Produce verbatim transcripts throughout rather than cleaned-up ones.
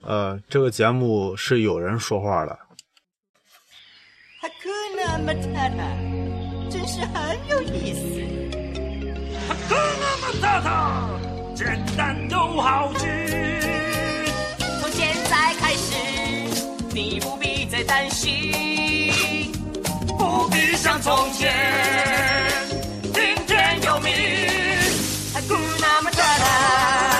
呃，这个节目是有人说话的。 Hakuna Matata， 真是很有意思。 Hakuna Matata， 简单又好记。 从现在开始，你不必再担心， 不必像从前，听天由命。 Hakuna Matata。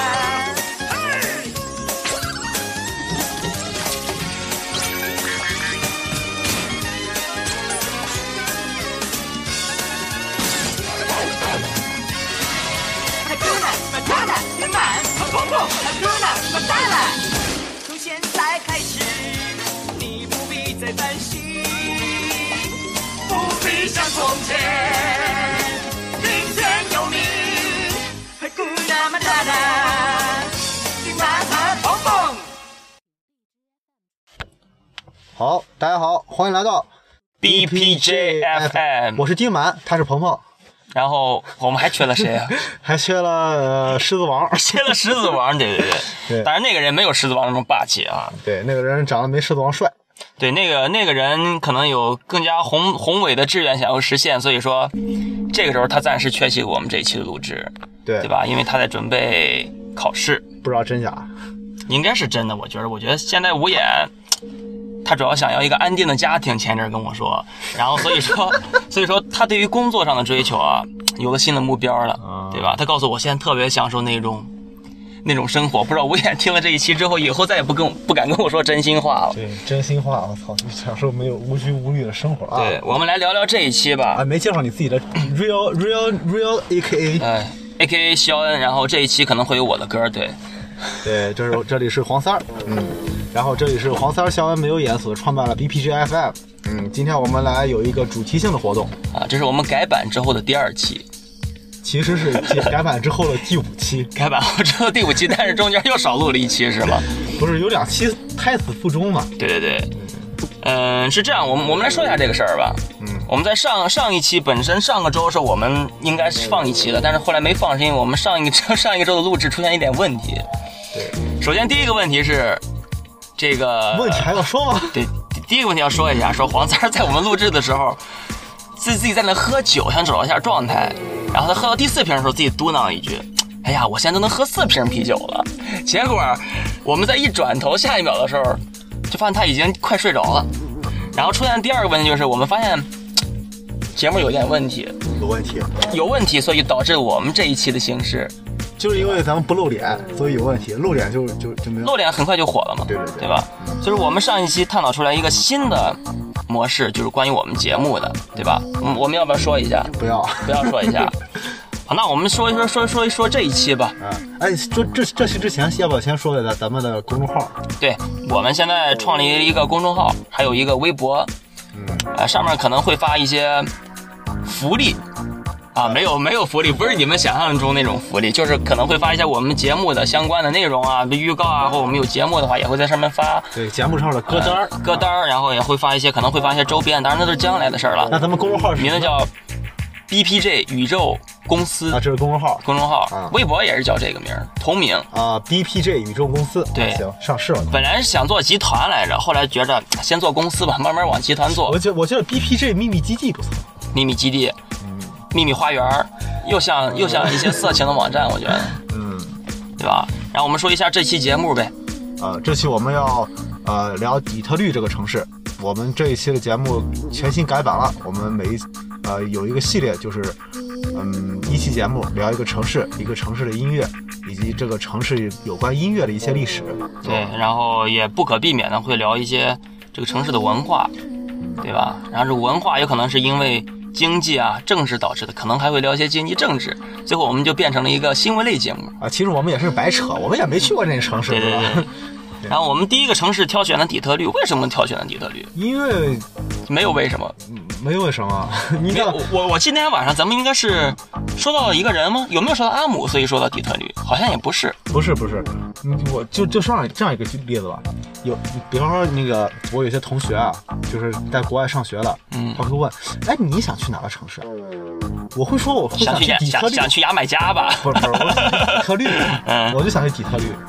从现在开始，你不必再担心， 不必像从前，听天由命。 Hakuna Matata， 你满和蹦蹦。 好，大家好，欢迎来到 B P J F M， 我是金满，他是鹏鹏。 然后我们还缺了谁啊？ 还缺了、呃、狮子王， 缺了狮子王，对对对。 对， 当然那个人没有狮子王那么霸气啊。 对，那个人长得没狮子王帅。 对，那个那个人可能有更加宏宏伟的志愿想要实现，所以说这个时候他暂时缺席我们这一期的录制， 对对吧？因为他在准备考试， 不知道真假， 应该是真的。我觉得，我觉得现在无眼。他主要想要一个安定的家庭，前阵跟我说，然后所以说，所以说他对于工作上的追求啊，有了新的目标了，对吧？他告诉我，现在特别享受那种那种生活。不知道吴眼听了这一期之后，以后再也不跟不敢跟我说真心话了。 对，真心话，我操，享受没有无拘无虑的生活啊！ 对，我们来聊聊这一期吧。 啊，没介绍你自己的 real real real A K A， 哎 ，A K A 肖恩，然后这一期可能会有我的歌，对， 对，这是这里是黄三儿，嗯。然后这里是黄三儿肖恩没有演所创办了 B P J F M， 嗯，今天我们来有一个主题性的活动啊，这是我们改版之后的第二期， 其实是改版之后的第五期， 改版后之后第五期，但是中间又少录了一期是吗？ 不是有两期胎死腹中嘛？ 对对对，嗯，是这样，我们我们来说一下这个事儿吧。嗯，我们在上上一期本身上个周是我们应该是放一期的，但是后来没放，是因为我们上一个上一个周的录制出现一点问题。 对， 首先第一个问题是。这个问题还要说吗？ 对，第一个问题要说一下，说黄三在我们录制的时候，自己自己在那喝酒，想找一下状态，然后他喝到第四瓶的时候，自己嘟囔一句：“哎呀，我现在都能喝四瓶啤酒了。”结果我们在一转头，下一秒的时候，就发现他已经快睡着了。然后出现第二个问题就是，我们发现节目有点问题， 有问题， 有问题，所以导致我们这一期的形式。 就是因为咱们不露脸，所以有问题。露脸就就就没有。 露脸很快就火了嘛， 对对对， 对吧？就是我们上一期探讨出来一个新的模式，就是关于我们节目的，对吧？嗯，我们要不要说一下？ 不要， 不要说一下。好，那我们说一说说说一说这一期吧。 啊，哎，说这这期之前，要不要先说一下咱们的公众号？ 对，我们现在创立了一个公众号，还有一个微博，嗯，呃，上面可能会发一些福利。啊，没有没有福利，不是你们想象中那种福利，就是可能会发一些我们节目的相关的内容啊，预告啊，或我们有节目的话也会在上面发。 对，节目上的歌单、 呃、歌单，然后也会发一些，可能会发一些周边，当然那都是将来的事儿了。 那咱们公众号名字叫 B P J 宇宙公司啊，这是公众号， 公众号， 啊、 微博也是叫这个名儿，同名啊 ，B P J 宇宙公司。 对， 行，上市了。 本来是想做集团来着，后来觉着先做公司吧，慢慢往集团做。 我觉我觉得 B P J 秘密基地不错， 秘密基地，嗯，秘密花园。又像又像一些色情的网站，我觉得，嗯，对吧？然后我们说一下这期节目呗。 呃，这期我们要呃聊底特律这个城市。我们这一期的节目全新改版了，我们每一呃有一个系列，就是嗯一期节目聊一个城市，一个城市的音乐，以及这个城市有关音乐的一些历史。 对，然后也不可避免的会聊一些这个城市的文化，对吧？然后这文化有可能是因为。经济啊，政治导致的，可能还会聊一些经济政治，最后我们就变成了一个新闻类节目啊。其实我们也是白扯，我们也没去过这个城市， 对对对。然后我们第一个城市挑选了底特律，为什么挑选了底特律？ 因为没有为什么， 没有为什么。你看，我我今天晚上咱们应该是说到了一个人吗？有没有说到阿姆，所以说到底特律？好像也不是， 不是不是。我就就上这样一个例子吧，有比方说那个我有些同学啊，就是在国外上学了，嗯，他会问，哎，你想去哪个城市？我会说我会想去底特律， 想去牙买加吧？ 不是不是，我想去底特律，嗯，我就想去底特律。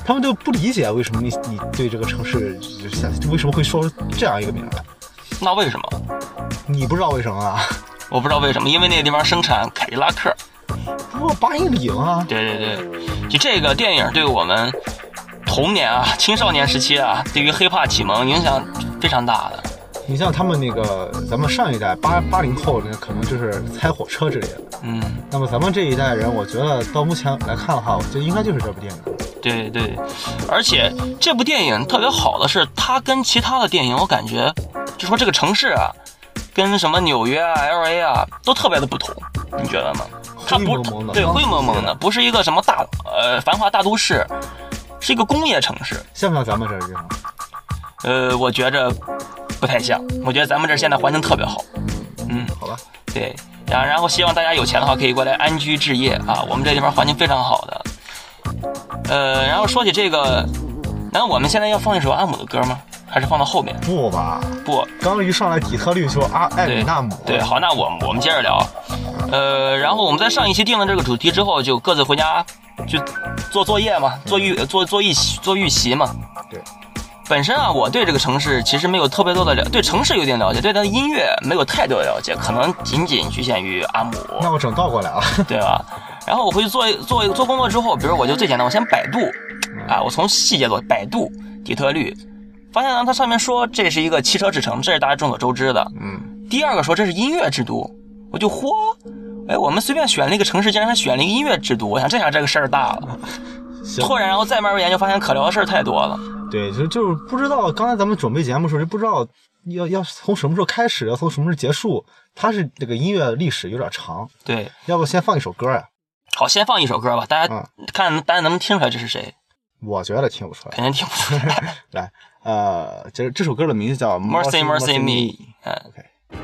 他们就不理解为什么你你对这个城市为什么会说这样一个名字。 那为什么？ 你不知道为什么啊？ 我不知道为什么，因为那个地方生产凯迪拉克。 不，八英里啊。 对对对，就这个电影对我们童年啊、青少年时期啊，对于黑怕启蒙影响非常大的。 你像他们那个，咱们上一代八八零后，那可能就是猜火车之类的。 嗯， 那么咱们这一代人，我觉得到目前来看的话，我觉得应该就是这部电影。 对对，而且这部电影特别好的是，它跟其他的电影，我感觉就说这个城市啊，跟什么纽约啊、L A 啊，都特别的不同，你觉得吗？它不灰蒙蒙的， 对，灰蒙蒙的，不是一个什么大呃繁华大都市，是一个工业城市。 像不像咱们这儿地方？ 呃，我觉着不太像，我觉得咱们这儿现在环境特别好。嗯， 好吧。 对，然然后希望大家有钱的话可以过来安居置业啊，我们这地方环境非常好的。呃，然后说起这个，难道我们现在要放一首阿姆的歌吗？还是放到后面？ 不吧， 不， 刚一上来底特律说阿艾米纳姆。 对，好，那我我们接着聊。呃，然后我们在上一期定了这个主题之后，就各自回家就做作业嘛，做预做做预做预习嘛。 对。 本身啊，我对这个城市其实没有特别多的了，对城市有点了解，对它的音乐没有太多的了解，可能仅仅局限于阿姆。 那我整倒过来了， 对吧？然后我回去做做做工作之后，比如我就最简单，我先百度，啊，我从细节做百度底特律，发现呢，它上面说这是一个汽车之城，这是大家众所周知的。 嗯。 第二个说这是音乐之都，我就嚯，哎，我们随便选了一个城市，竟然还选了一个音乐之都，我想这下这个事儿大了。突然，然后再慢慢研究，发现可聊的事儿太多了。 对，就就是不知道，刚才咱们准备节目的时候就不知道要要从什么时候开始，要从什么时候结束。它是这个音乐历史有点长。 对， 要不先放一首歌呀？ 好，先放一首歌吧，大家嗯看大家能不能听出来这是谁？ 我觉得听不出来， 肯定听不出来。 来，呃，这这首歌的名字叫 Mercy Mercy Me。嗯 ，OK。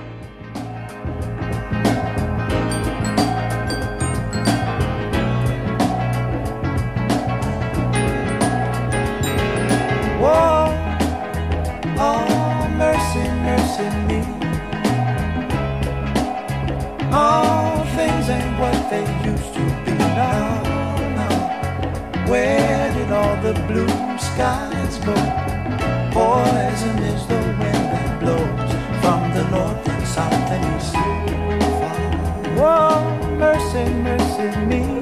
Whoa, oh, mercy, mercy me. All things ain't what they used to be now. Where did all the blue skies go? Poison is the wind that blows from the north and south and east. Whoa, mercy, mercy me.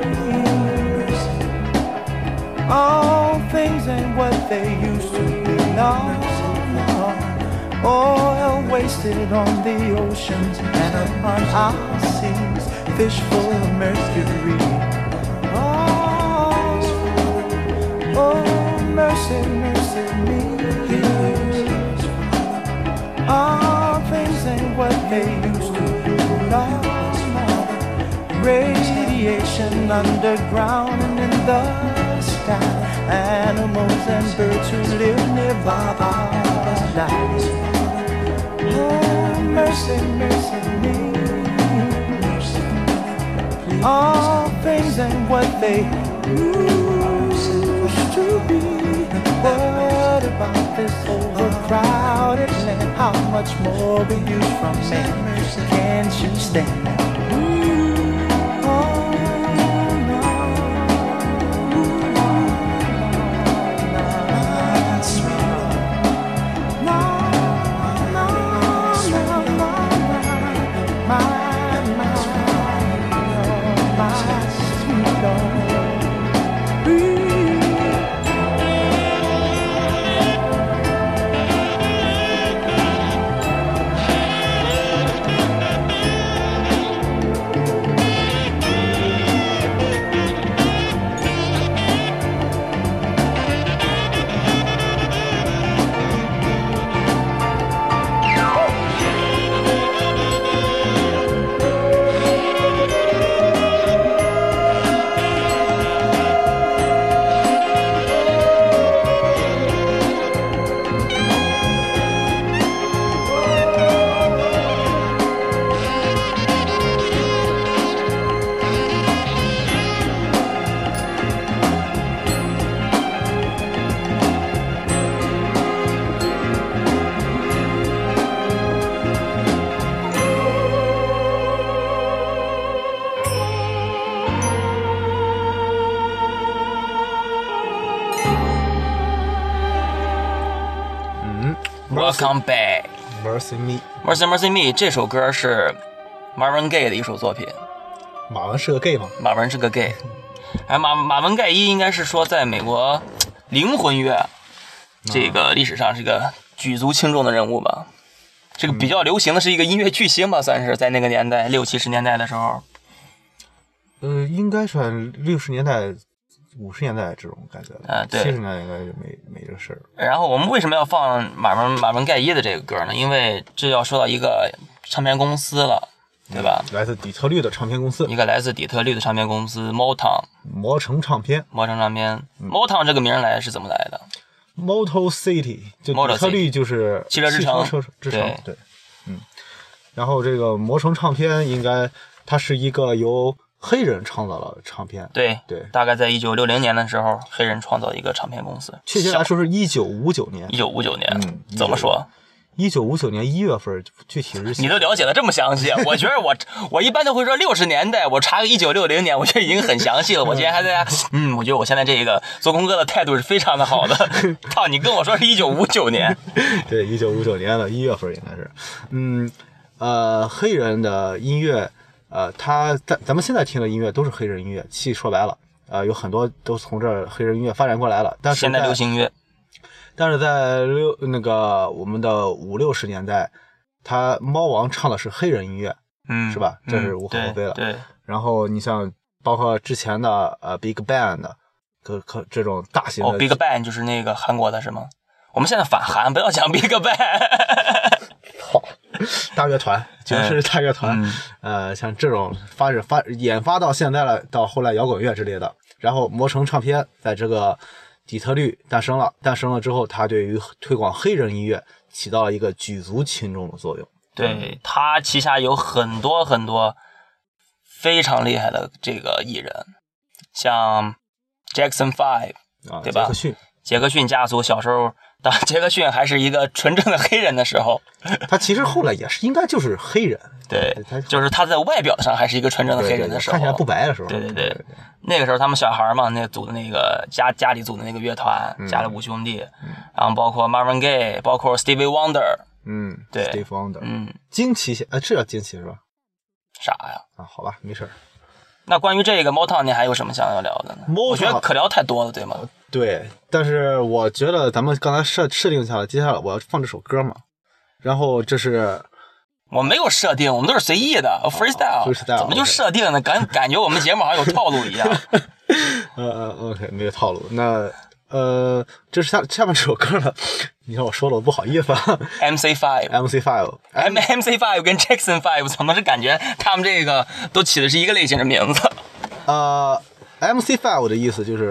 All things ain't what they used to be now. Oil wasted on the oceans and upon our seas, fish full of mercury. Oh, oh, mercy, mercy me. All things ain't what they used to be now. Radiation underground and in the sky, animals and birds who live nearby are dying. Oh, mercy, mercy me. All things ain't what they used to be. What about this overcrowded land? How much more we use from man? Can't you stand that? Welcome Back Mercy Me。 Mercy Mercy Me 这首歌是 Marvin Gaye 的一首作品。 马文是个 gay 吗？ 马文是个 gay， 哎，马马文盖伊应该是说在美国灵魂乐这个历史上是一个举足轻重的人物吧。这个比较流行的是一个音乐巨星吧，算是在那个年代六七十年代的时候。 呃，应该算六十年代、五十年代这种感觉的。 啊对七十年代应该就没没这个事儿。 然后我们为什么要放马文马文盖伊的这个歌呢？因为这要说到一个唱片公司了，对吧？ 来自底特律的唱片公司， 一个来自底特律的唱片公司 Motown， 魔城唱片。 魔城唱片。Motown 这个名来是怎么来的？ Motor City， 就 Motor 底特律就是汽车之城汽车之城， 对对，嗯。然后这个魔城唱片应该它是一个由黑人创造的唱片， 对对， 大概在一九六零年的时候，黑人创造一个唱片公司。 确切来说是一九五九年， 一九五九年， 嗯怎么说？ 一九五九年一月份，具体日期你都了解的这么详细，我觉得我我一般都会说六十年代，我查个一九六零年，我觉得已经很详细了。我今天还在家，嗯，我觉得我现在这个做功课的态度是非常的好的。操，你跟我说是一九五九年， 对，一九五九年的一月份应该是，嗯，呃，黑人的音乐，呃，他咱咱们现在听的音乐都是黑人音乐，其实说白了，呃，有很多都从这儿黑人音乐发展过来了，但是现代流行音乐。 但是在六那个我们的五六十年代，他猫王唱的是黑人音乐， 嗯， 是吧？这是无可厚非的。 嗯、对。对然后你像包括之前的呃 Big Bang 的，可可这种大型的。 哦 ，Big Bang 就是那个韩国的是吗？我们现在反韩，不要讲 Big Bang。 好，大乐团就是大乐团， 嗯、 呃，像这种发展发研发到现在了，到后来摇滚乐之类的，然后魔城唱片在这个底特律诞生了，诞生了之后，它对于推广黑人音乐起到了一个举足轻重的作用。 对，它旗下有很多很多非常厉害的这个艺人，像 Jackson Five， 啊， 对吧？ 杰克逊， 杰克逊家族小时候，当杰克逊还是一个纯正的黑人的时候， 他其实后来也是应该就是黑人， 对，就是他在外表上还是一个纯正的黑人的时候， 看起来不白的时候， 对对 对, 对, 对, 对，那个时候他们小孩嘛，那组的那个家家里组的那个乐团，嗯、家里五兄弟，嗯、然后包括 Marvin Gaye， 包括 Stevie Wonder， 嗯， 对 ，Stevie Wonder， 嗯， 惊奇，呃，这叫惊奇是吧？ 啥呀？ 啊，好吧，没事。 那关于这个 Motown， 你还有什么想要聊的呢？ Motown， 我觉得可聊太多了，对吗？ 对，但是我觉得咱们刚才设设定下来，接下来我要放这首歌嘛，然后这是我没有设定，我们都是随意的 freestyle， 怎么就设定呢？感感觉我们节目好像有套路一样。 呃呃 ，OK， 没有套路。那呃，这是下下面这首歌了，你看我说了，我不好意思啊。 M C Five，M C Five，M M C Five 跟 Jackson Five， 怎么是感觉他们这个都起的是一个类型的名字？ 呃 ，M C Five 的意思就是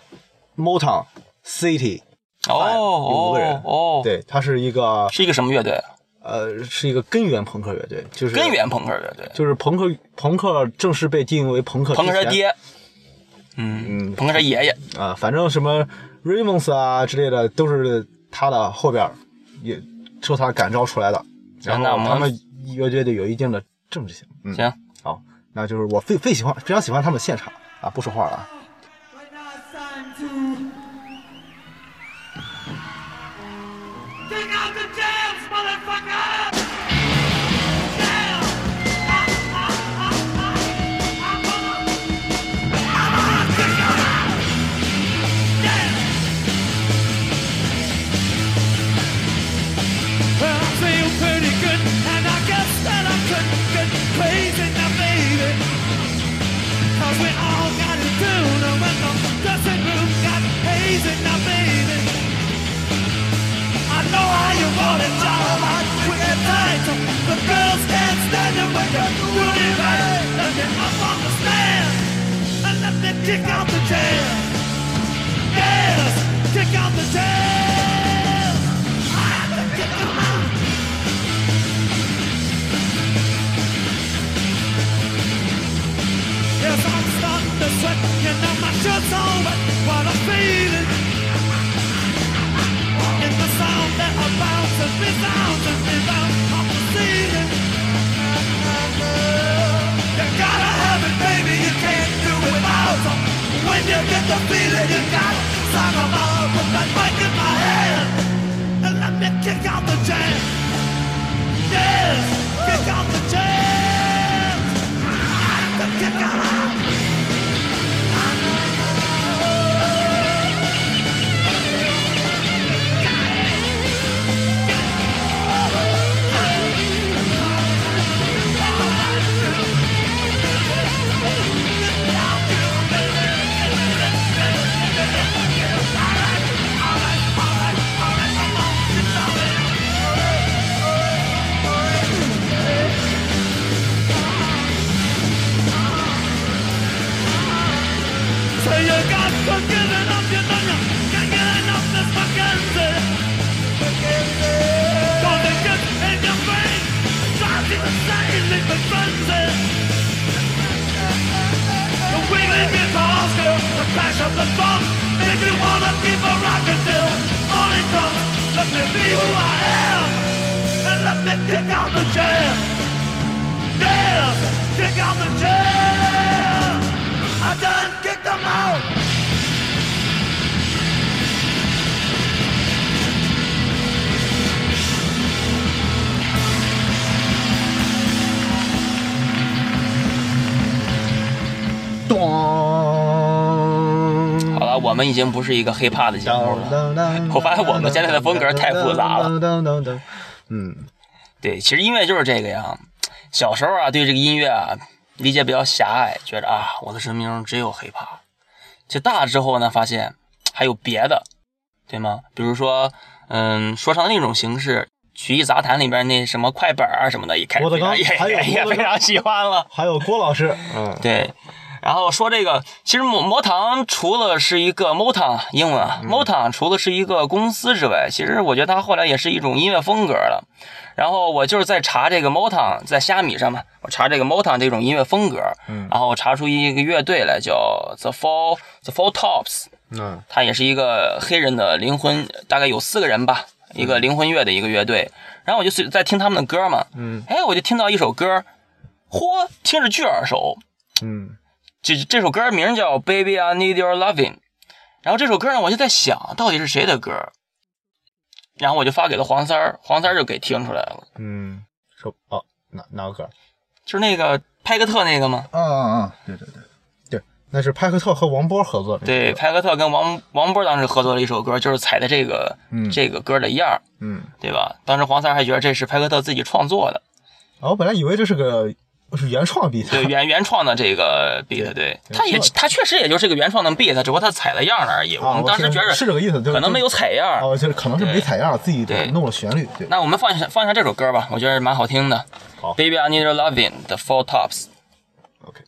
Motown City， 哦， 有五个人， 哦， 对，它是一个是一个什么乐队？ 呃，是一个根源朋克乐队，就是根源朋克乐队， 就是朋克朋克正式被定义为朋克， 朋克是爹，嗯嗯，朋克是爷爷啊，反正什么 Ramones 啊之类的都是他的后边也受他感召出来的，然后他们乐队有一定的政治性。嗯、 行， 好，那就是我非非喜欢非常喜欢他们现场啊，不说话了啊。 The girls can't stand it when you're doing it right. Let me up on the stand and let me kick out the jam. Yes, kick out the jam. I have to kick them out. Yes, I'm starting to sweat. You know my shirt's all wet. What I'm feeling in the sound that I bounce and resounds and rebounds. You gotta have it, baby, you can't do it without. When you get the feeling, you gotta talk about flash of the drum, make me wanna keep a rockin' till morning comes. Let me be who I am, and let me kick out the jam. Yeah, kick out the jam. I done kicked them out. 好了，我们已经不是一个黑怕的节目了。我发现我们现在的风格太复杂了。 嗯， 对，其实音乐就是这个样。小时候啊，对这个音乐啊理解比较狭隘，觉得啊，我的生命中只有黑怕。这大之后呢，发现还有别的，对吗？比如说，嗯，说唱另一种形式，曲艺杂谈里边那什么快本啊什么的，一开始非常也也也非常喜欢了。 还有郭老师，嗯， 对。然后说这个，其实魔魔堂除了是一个 Motown 英文啊、嗯、，Motown 除了是一个公司之外，其实我觉得它后来也是一种音乐风格了。然后我就是在查这个 Motown， 在虾米上嘛，我查这个 Motown 这种音乐风格，嗯，然后查出一个乐队来叫 The Four The Four Tops， 嗯，它也是一个黑人的灵魂，大概有四个人吧，一个灵魂乐的一个乐队。然后我就在听他们的歌嘛，嗯，哎，我就听到一首歌，嚯，听着巨耳熟，嗯。这这首歌名叫 Baby I Need Your Loving， 然后这首歌呢，我就在想到底是谁的歌，然后我就发给了黄三儿，黄三儿就给听出来了。 嗯，说哦，哪哪个歌？ 就是那个派克特那个吗？ 啊啊啊！对对对对，那是派克特和王波合作的。 对，派克特跟王王波当时合作了一首歌，就是采的这个、嗯、这个歌的样，嗯，对吧？当时黄三儿还觉得这是派克特自己创作的。 哦，我本来以为这是个。是原创 beat， 对原原创的这个 beat， 对, 对他也他确实也就是个原创的 beat， 只不过他采了样而已。 啊、 我们当时觉得是这个意思， 可能没有采样， 哦，就是可能是没采样，自己弄了旋律。对， 那我们放一下放一下这首歌吧，我觉得蛮好听的。 好 ，Baby I Need Your Loving 的 Four Tops。OK。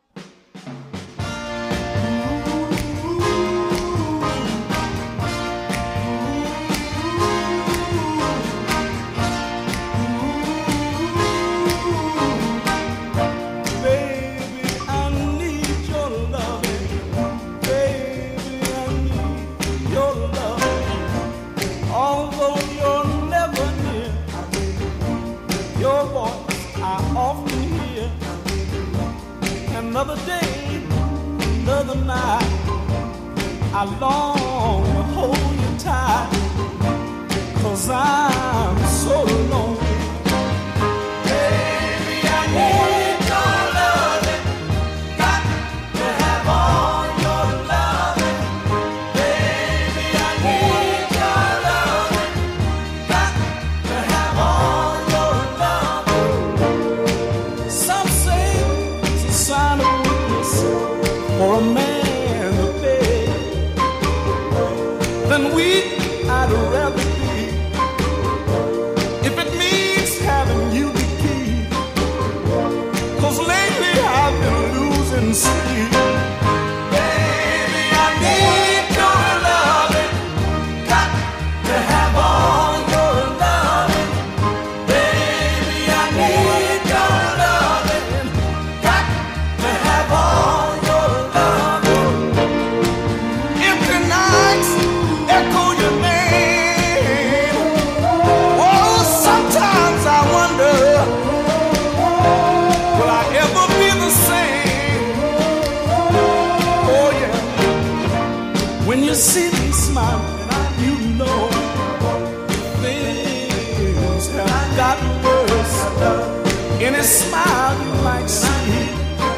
Another day, another night, I long to hold you tight, 'cause I'm so lonely. Baby, I need your loving, got to have all your loving. Baby, I need your loving, got to have all your loving. Some say it's a sign of for a man to pay, then weak I'd rather be, if it means having you to keep, 'cause lately I've been losing sleep. Baby, I need your loving, got to have all your loving. Baby, I need your loving, got to have all. Echo your name. Oh, sometimes I wonder, will I ever be the same? Oh yeah. When you see me smiling, you know things have gotten worse. Any smile you might see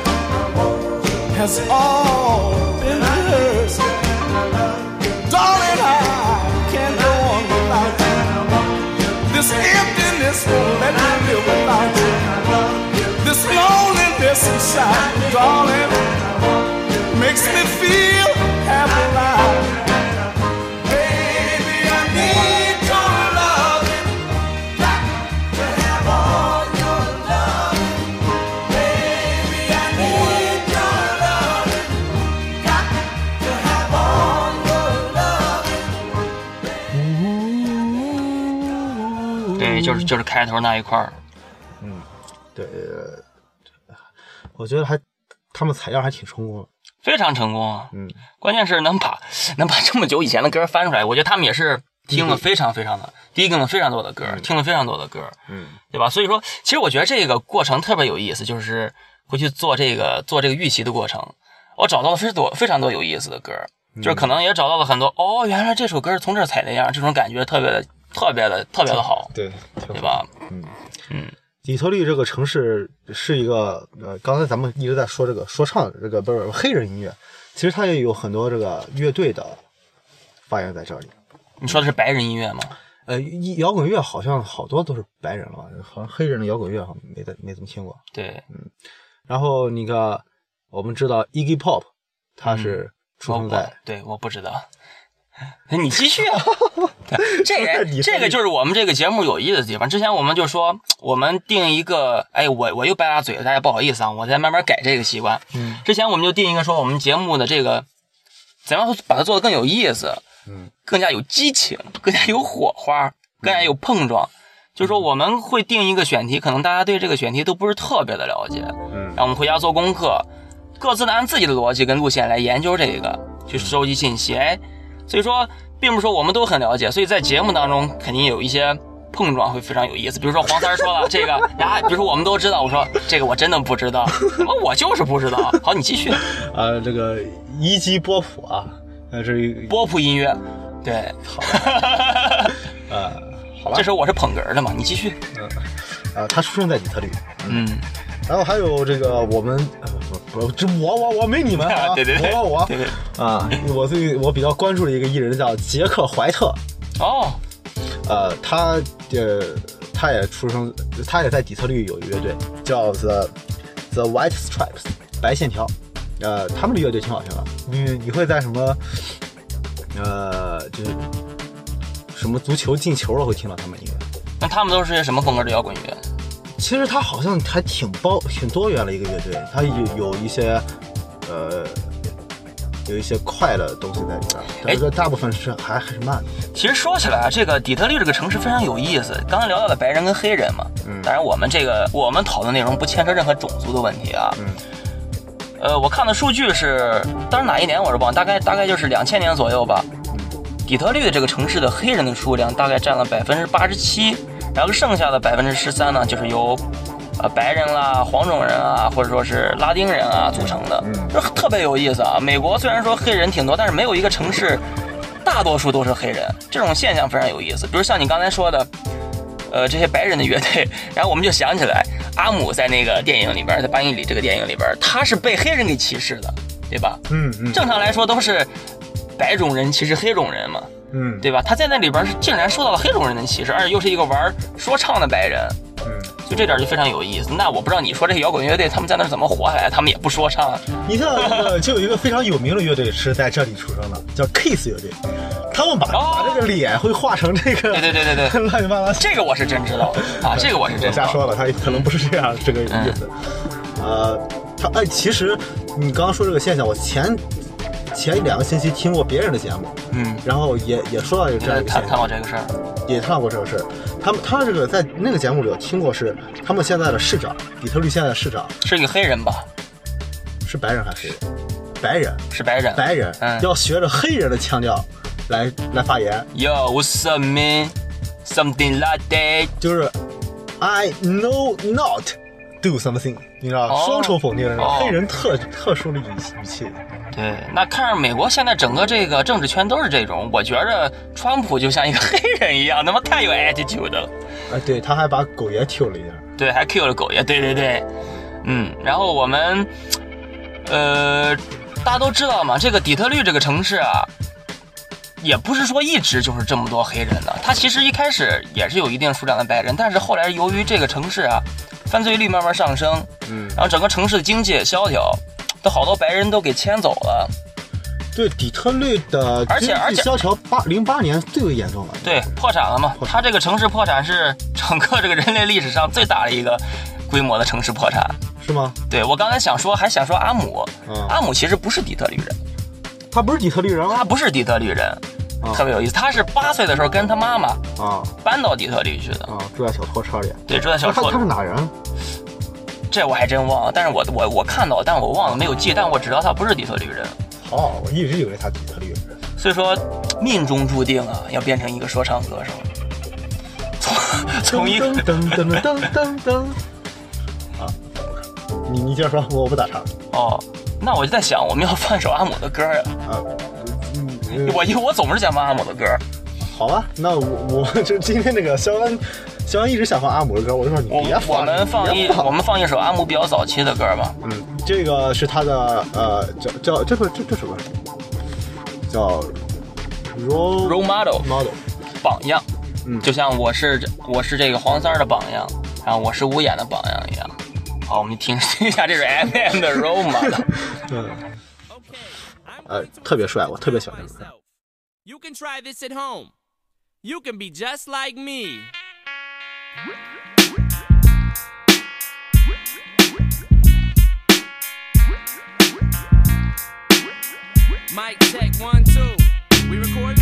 has all been rehearsed. Darling, I can't go on without you. This emptiness won't let me live without you. This loneliness inside, darling, makes me feel half alive. Baby, I need your loving, got to have all your loving. Baby, I need your loving, got to have all your loving. 对，就是就是开头那一块儿。 嗯，对，我觉得还他们采样还挺成功的。 非常成功啊。 嗯， 关键是能把能把这么久以前的歌翻出来，我觉得他们也是听了非常非常的低更了非常多的歌， 嗯、 听了非常多的歌， 嗯， 对吧？所以说，其实我觉得这个过程特别有意思，就是回去做这个做这个预习的过程，我找到了非常多非常多有意思的歌，就是可能也找到了很多、嗯、哦，原来这首歌是从这儿采的样，这种感觉特别的特别的特别的好， 对对吧？ 嗯嗯。 底特律这个城市是一个呃，刚才咱们一直在说这个说唱这个不是黑人音乐，其实它也有很多这个乐队的发源在这里。 你说的是白人音乐吗？ 呃，摇滚乐好像好多都是白人了吧？好像黑人的摇滚乐好像没怎没怎么听过。 对， 嗯。然后那个我们知道 Iggy Pop， 他是出生在、 嗯、对，我不知道。你继续啊！这个这个就是我们这个节目有意思的地方。之前我们就说，我们定一个，哎，我我又掰拉嘴了，大家不好意思啊，我再慢慢改这个习惯。 嗯， 之前我们就定一个说，我们节目的这个怎样把它做得更有意思， 嗯， 更加有激情，更加有火花，更加有碰撞。就是说我们会定一个选题，可能大家对这个选题都不是特别的了解， 嗯， 然后我们回家做功课，各自的按自己的逻辑跟路线来研究这个，去收集信息，哎。所以说，并不是说我们都很了解，所以在节目当中肯定有一些碰撞会非常有意思。比如说黄三说了这个呀，比如说我们都知道，我说这个我真的不知道，我就是不知道。好，你继续。 啊，这个一级波普啊，那是波普音乐，对。 好呃，好吧。 这时候我是捧哏的嘛，你继续。 嗯，啊，他出生在底特律。 嗯。 然后还有这个我们呃不不这我我我没你们啊， 对对对， 我我对对啊，我最我比较关注的一个艺人叫杰克怀特。 哦， 呃，他呃他也出生，他也在底特律有一个乐队叫 The The White Stripes 白线条，呃，他们的乐队挺好听的。你你会在什么呃就是什么足球进球了会听到他们音乐？ 那他们都是些什么风格的摇滚乐？ 其实他好像还挺包挺多元的一个乐队，他有有一些呃有一些快的东西在里边，但是大部分是还还是慢的。 其实说起来，这个底特律这个城市非常有意思。刚才聊到了白人跟黑人嘛，嗯，当然我们这个我们讨论内容不牵扯任何种族的问题啊， 嗯， 呃，我看的数据是，当然哪一年我是忘，大概大概就是两千年左右吧。底特律的这个城市的黑人的数量大概占了百分之八十七。然后剩下的百分之十三呢，就是由，呃，白人啦、黄种人啊，或者说是拉丁人啊组成的，就特别有意思啊。美国虽然说黑人挺多，但是没有一个城市大多数都是黑人，这种现象非常有意思。比如像你刚才说的，呃，这些白人的乐队，然后我们就想起来，阿姆在那个电影里边，在《八英里》这个电影里边，他是被黑人给歧视的，对吧？ 嗯嗯。正常来说都是白种人歧视黑种人嘛。 嗯， 对吧？他在那里边是竟然受到了黑种人的歧视，而且又是一个玩说唱的白人， 嗯， 就这点就非常有意思。那我不知道你说这些摇滚乐队他们在那怎么活下来，他们也不说唱。 你像那个就有一个非常有名的乐队是在这里出生的，叫 Kiss 乐队，他们把、哦、把这个脸会画成这个， 对对对对对， 乱七八糟。 这个我是真知道啊，这个我是真知道。 瞎说了，他可能不是这样这个意思。嗯、呃，他哎，其实你刚刚说这个现象，我前。前两个星期听过别人的节目， 嗯， 然后也也说到有这样一个现象， 谈过这个事儿， 也谈过这个事儿。他们他这个在那个节目里有听过是他们现在的市长，底特律现在的市长是一个黑人吧？ 是白人还是黑人？白人是白人， 白人， 嗯， 要学着黑人的腔调来来发言。 Yo, what's up, man? Something like that. 就是 I know not do something， 你知道， 哦、 双重否定的、 哦、 黑人特特殊的语语气。 对，那看着美国现在整个这个政治圈都是这种，我觉着川普就像一个黑人一样，他妈太有 attitude 了。 啊，对，他还把狗爷 Q 了一下。 对，还 Q 了狗爷，对对对，嗯，然后我们，呃，大家都知道嘛，这个底特律这个城市啊，也不是说一直就是这么多黑人的，它其实一开始也是有一定数量的白人，但是后来由于这个城市啊，犯罪率慢慢上升， 嗯， 然后整个城市的经济也萧条。都好多白人都给迁走了， 对，底特律的经济萧条，八零八年最为严重了， 对，破产了嘛。它这个城市破产是整个这个人类历史上最大的一个规模的城市破产， 是吗？ 对，我刚才想说，还想说阿姆， 嗯、 阿姆其实不是底特律人， 他不是底特律人吗？ 他不是底特律人，啊、特别有意思。他是八岁的时候跟他妈妈啊搬到底特律去的， 啊，住在小拖车里。 对，住在小拖车。 他他是哪人？ 这我还真忘了，但是我我我看到，但我忘了没有记，但我知道他不是底特律人。 哦，我一直以为他底特律人。 所以说，命中注定啊，要变成一个说唱歌手。从从一个噔噔噔噔噔噔。啊，你你接着说，我我不打岔。 哦，那我就在想，我们要放一首阿姆的歌呀。 啊，嗯， 我我总是想放阿姆的歌。 好吧，那我我就今天那个肖恩，肖恩一直想放阿姆的歌，我就说你别放。 我们放一我们放一首阿姆比较早期的歌吧。 嗯，这个是他的呃叫叫这个这这首歌叫 role role model model 榜样， 嗯， 就像我是我是这个黄三儿的榜样，然后我是无眼的榜样一样。好，我们听听一下这是 M M 的 role model。 嗯，呃，特别帅，我特别喜欢这首歌。 You can try this at home. You can be just like me. Mic check, one, two. We recording?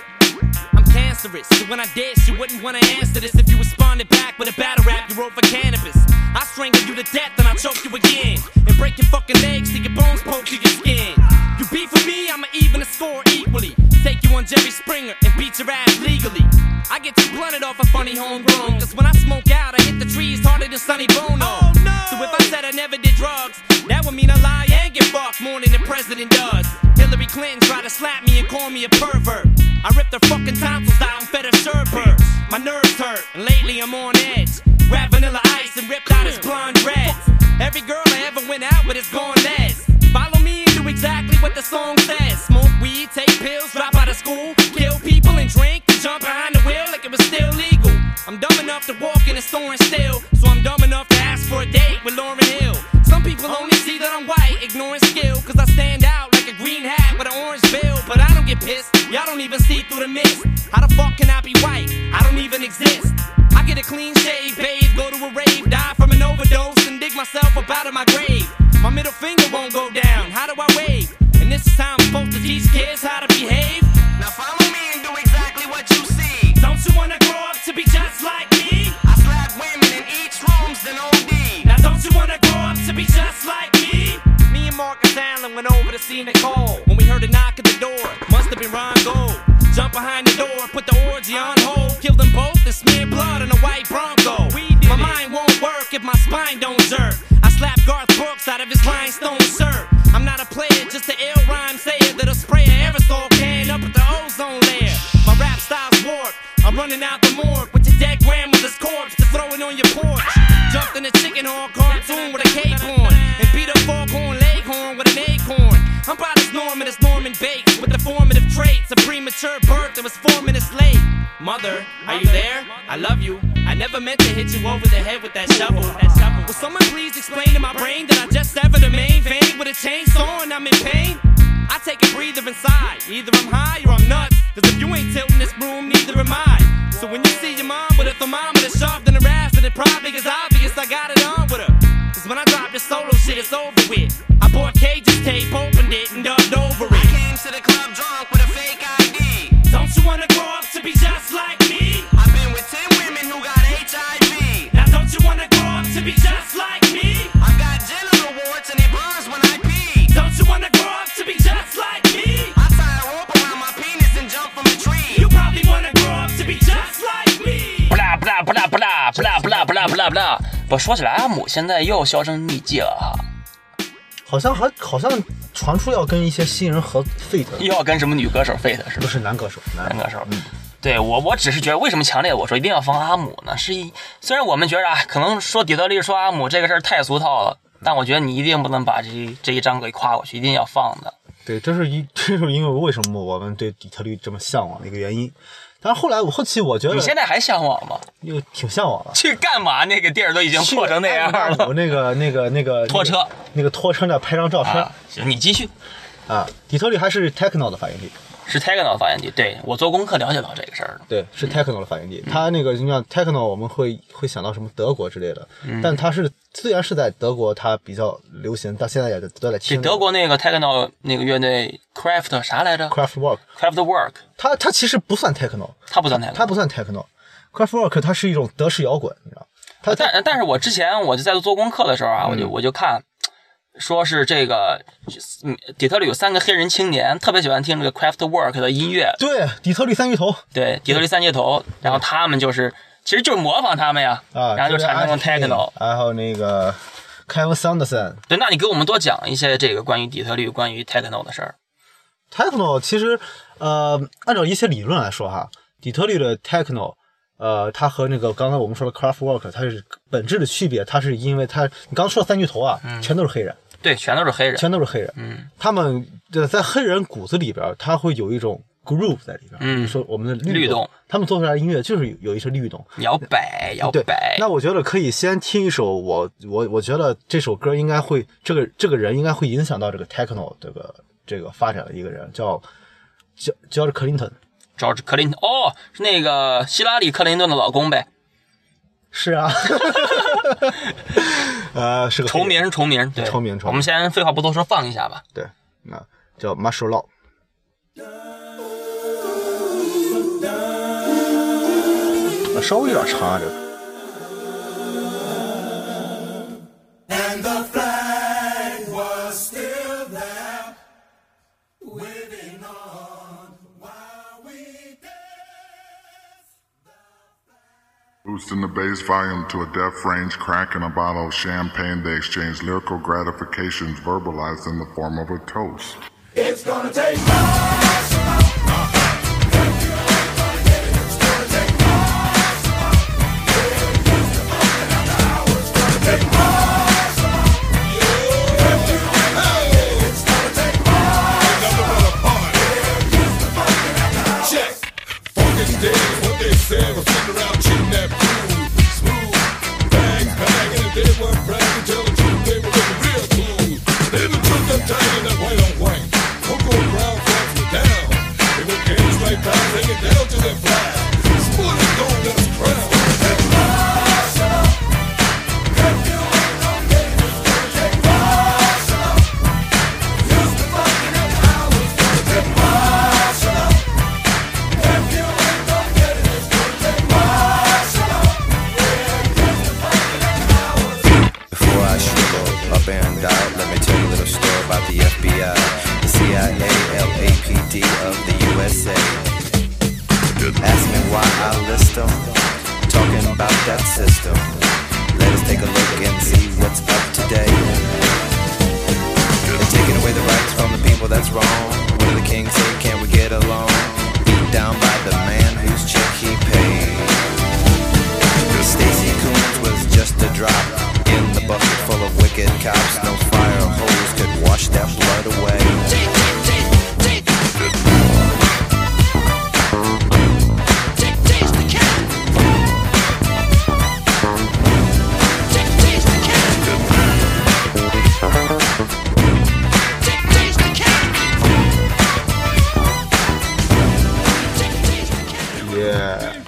I'm cancerous, so when I dish, you wouldn't want to answer this if you responded back with a battle rap you wrote for cannabis. I strangle you to death and I choke you again, and break your fucking legs till your bones poke through your skin. You beef with me, I'ma even the score equally. Take you on Jerry Springer and beat your ass legally. I get you blunted off a funny homegrown, cause when I smoke out, I hit the trees harder than Sonny Bono. Oh, no. So if I said I never did drugs, that would mean I lie and get fucked more than the president does. Hillary Clinton tried to slap me and call me a pervert. I ripped her fucking tonsils out and fed her sherbert. My nerves hurt, and lately I'm on edge. Rap Vanilla Ice and ripped out his blonde reds. Every girl I ever went out with is gone less. Follow me and do exactly what the song says. Smoke weed, take pills, drop out of school, kill people and drink, and jump behind the wheel like it was still legal. I'm dumb enough to walk in a store and steal, so I'm dumb enough to ask for a date with Lauryn Hill. Some people only see that I'm white, ignoring skill, cause I stand out like a green hat with an orange bill. But I don't get pissed, y'all don't even see through the mist. How the fuck can I be white? I don't even exist. I get a clean shave, bathe, go to a rave, die from an overdose, and dig myself up out of my grave. My middle finger won't go down, how do I wave? And this is how I'm supposed to teach kids how to behave. Now follow me and do exactly what you see. Don't you wanna grow up to be just like me? I slap women in each rooms, then O D. Now don't you wanna grow up to be just like me? Me and Marcus Allen went over to see Nicole. When we heard a knock at the door, must have been Ron Gold. Jump behind the door, put the orgy on hold. Kill them both and smear blood on a white Bronco. My mind won't work if my spine don't jerk. I slap Garth Brooks out of his rhinestone shirt. I'm not a player, just an ill rhyme sayer that'll spray an aerosol can up at the ozone layer. My rap style's warped. I'm running out the morgue with your dead grandmother's corpse to throw it on your porch. Jumped in a chicken horn cartoon with a cape on, and beat up foghorn leghorn with an acorn. I'm about as Norman as Norman Bates, with the formative traits of premature birth that was four minutes late. Mother, are you there? I love you. I never meant to hit you over the head with that shovel. That shovel. Will someone please explain to my brain that I just severed the main vein with a chainsaw and I'm in pain? I take a breather inside. Either I'm high or I'm nuts, cause if you ain't tilting this broom, neither am I. So when you see your mom with a thermometer sharp in her ass, then it probably is obvious I got it on with her. Cause when I drop this solo shit, it's over with. I bought Cage's tape, opened it, and dubbed over it. I came to the club drunk with a fake I D. Don't you wanna grow up to be just like me? I've been with ten women who got H I V. Now don't you wanna grow up to be just like me? I've got genital warts and it burns when I pee. Don't you wanna grow up to be just like me? I tie a rope around my penis and jump from a tree. You probably wanna grow up to be just like me. 不啦不啦不啦不啦不啦不啦不啦不啦不啦。不说起来，阿姆现在又销声匿迹了哈。 好像还好像传出要跟一些新人合 feat， 又要跟什么女歌手 feat 是吧？ 不是男歌手，男男歌手。 嗯， 对我我只是觉得为什么强烈我说一定要放阿姆呢？是一虽然我们觉得啊，可能说底特律说阿姆这个事儿太俗套了，但我觉得你一定不能把这这一章给跨过去，一定要放的。 对，这是一这是因为为什么我们对底特律这么向往的一个原因。但是后来我后期我觉得你现在还向往吗？ 又挺向往的。 去干嘛？那个地儿都已经破成那样了。 我那个那个那个拖车， 那个拖车那拍张照片。 啊、行，你继续。 啊，底特律还是 techno 的发源地。 是 techno 的发源地，对我做功课了解到这个事儿了。 对，是 techno 的发源地。嗯、它那个你像 techno， 我们会会想到什么德国之类的，嗯、但它是虽然是在德国，它比较流行，但现在也都在听。 德国那个 techno 那个乐队 Craft 啥来着 ？Craftwork。 Craftwork。 它它其实不算 techno， 它不算 techno， 它不算 techno。Craftwork 它是一种德式摇滚，你知道。 他但但是我之前我就在做功课的时候啊， 嗯、 我就我就看，说是这个底特律有三个黑人青年特别喜欢听这个 Kraftwerk 的音乐。 对，底特律三巨头。 对，底特律三巨头，然后他们就是其实就是模仿他们呀， 啊， 然后就产生了 techno， 还有那个 Kevin Saunderson。 对，那你给我们多讲一些这个关于底特律、关于 techno 的事儿。 techno 其实呃，按照一些理论来说哈，底特律的 techno。呃，它和那个刚才我们说的 Kraftwerk， 它是本质的区别，它是因为它，你刚说的三巨头啊， 嗯、 全都是黑人， 对，全都是黑人， 全都是黑人， 嗯， 他们在黑人骨子里边，他会有一种 groove 在里边， 嗯， 说我们的律动， 他们做出来的音乐就是有一些律动， 摇摆，摇摆。 那我觉得可以先听一首，我我我觉得这首歌应该会，这个这个人应该会影响到这个 techno 这个这个发展的一个人，叫叫叫克林顿。 George Clinton， 哦，是那个希拉里·克林顿的老公呗？ 是啊，呃，是个重名，重名，对， 重名，重名。 我们先废话不多说，放一下吧。 对，那叫 Martial Law。稍微有点长啊，这个。And the flag was still there, waving on while we danced. Boosting the bass volume to a deaf range, cracking a bottle of champagne, they exchange lyrical gratifications verbalized in the form of a toast. It's gonna take us. Yeah.